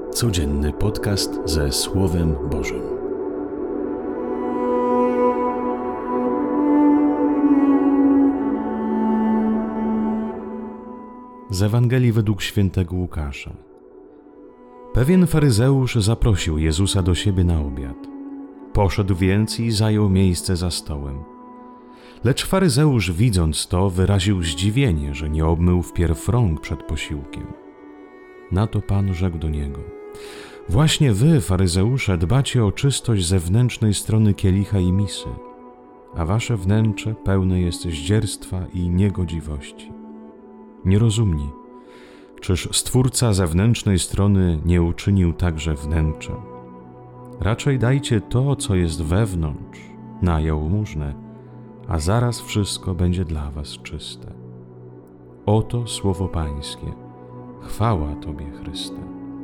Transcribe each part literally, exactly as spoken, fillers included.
Codzienny podcast ze Słowem Bożym. Z Ewangelii według świętego Łukasza. Pewien faryzeusz zaprosił Jezusa do siebie na obiad. Poszedł więc i zajął miejsce za stołem. Lecz faryzeusz, widząc to, wyraził zdziwienie, że nie obmył wpierw rąk przed posiłkiem. Na to Pan rzekł do niego: właśnie wy, faryzeusze, dbacie o czystość zewnętrznej strony kielicha i misy, a wasze wnętrze pełne jest zdzierstwa i niegodziwości. Nierozumni, czyż Stwórca zewnętrznej strony nie uczynił także wnętrza? Raczej dajcie to, co jest wewnątrz, na jałmużnę, a zaraz wszystko będzie dla was czyste. Oto słowo Pańskie. Chwała Tobie, Chryste.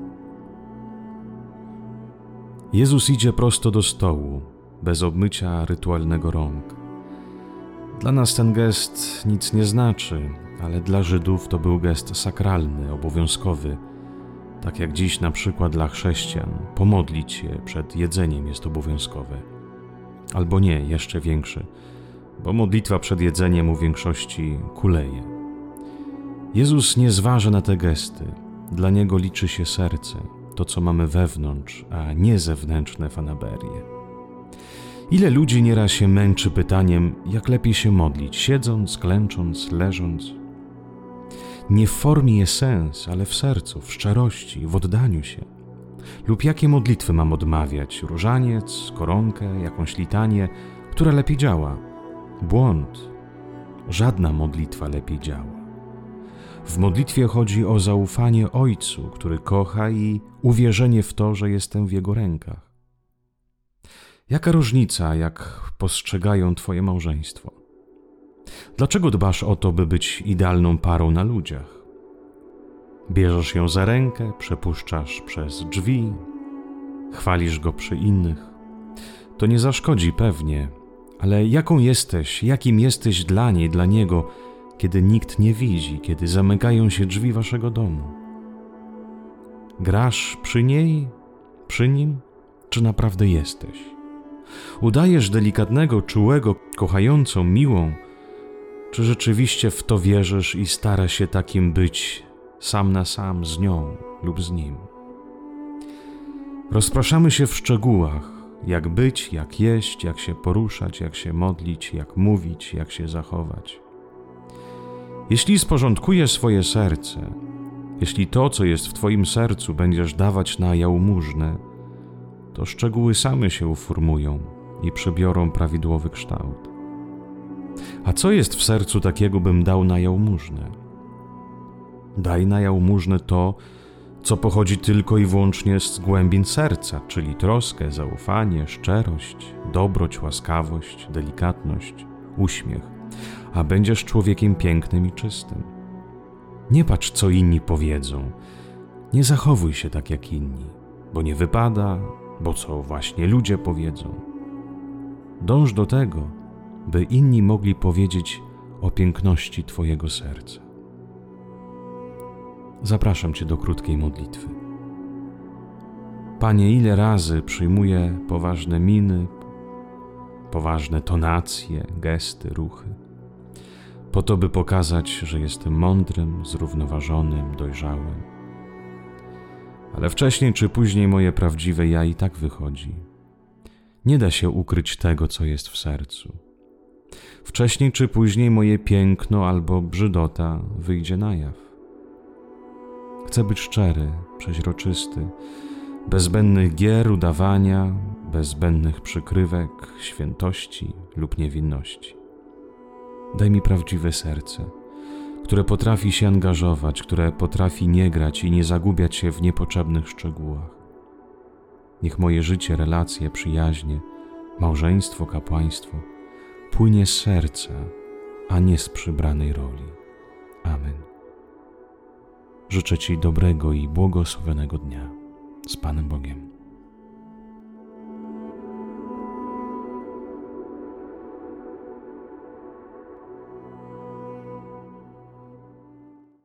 Jezus idzie prosto do stołu, bez obmycia rytualnego rąk. Dla nas ten gest nic nie znaczy, ale dla Żydów to był gest sakralny, obowiązkowy. Tak jak dziś na przykład dla chrześcijan, pomodlić się przed jedzeniem jest obowiązkowe. Albo nie, jeszcze większy, bo modlitwa przed jedzeniem u większości kuleje. Jezus nie zważa na te gesty. Dla Niego liczy się serce, to co mamy wewnątrz, a nie zewnętrzne fanaberie. Ile ludzi nieraz się męczy pytaniem, jak lepiej się modlić, siedząc, klęcząc, leżąc. Nie w formie jest sens, ale w sercu, w szczerości, w oddaniu się. Lub jakie modlitwy mam odmawiać? Różaniec, koronkę, jakąś litanię, która lepiej działa? Błąd. Żadna modlitwa lepiej działa. W modlitwie chodzi o zaufanie Ojcu, który kocha, i uwierzenie w to, że jestem w Jego rękach. Jaka różnica, jak postrzegają Twoje małżeństwo? Dlaczego dbasz o to, by być idealną parą na ludziach? Bierzesz ją za rękę, przepuszczasz przez drzwi, chwalisz go przy innych. To nie zaszkodzi pewnie, ale jaką jesteś, jakim jesteś dla niej, dla niego, kiedy nikt nie widzi, kiedy zamykają się drzwi waszego domu? Grasz przy niej, przy nim, czy naprawdę jesteś? Udajesz delikatnego, czułego, kochającą, miłą, czy rzeczywiście w to wierzysz i starasz się takim być sam na sam z nią lub z nim? Rozpraszamy się w szczegółach, jak być, jak jeść, jak się poruszać, jak się modlić, jak mówić, jak się zachować. Jeśli sporządkujesz swoje serce, jeśli to, co jest w Twoim sercu, będziesz dawać na jałmużnę, to szczegóły same się uformują i przybiorą prawidłowy kształt. A co jest w sercu takiego, bym dał na jałmużnę? Daj na jałmużnę to, co pochodzi tylko i wyłącznie z głębin serca, czyli troskę, zaufanie, szczerość, dobroć, łaskawość, delikatność, uśmiech, a będziesz człowiekiem pięknym i czystym. Nie patrz, co inni powiedzą. Nie zachowuj się tak jak inni, bo nie wypada, bo co właśnie ludzie powiedzą. Dąż do tego, by inni mogli powiedzieć o piękności Twojego serca. Zapraszam Cię do krótkiej modlitwy. Panie, ile razy przyjmuję poważne miny, poważne tonacje, gesty, ruchy, po to, by pokazać, że jestem mądrym, zrównoważonym, dojrzałym. Ale wcześniej czy później moje prawdziwe ja i tak wychodzi. Nie da się ukryć tego, co jest w sercu. Wcześniej czy później moje piękno albo brzydota wyjdzie na jaw. Chcę być szczery, przeźroczysty, bez zbędnych gier, udawania, bez zbędnych przykrywek, świętości lub niewinności. Daj mi prawdziwe serce, które potrafi się angażować, które potrafi nie grać i nie zagubiać się w niepotrzebnych szczegółach. Niech moje życie, relacje, przyjaźnie, małżeństwo, kapłaństwo płynie z serca, a nie z przybranej roli. Amen. Życzę Ci dobrego i błogosławionego dnia. Z Panem Bogiem.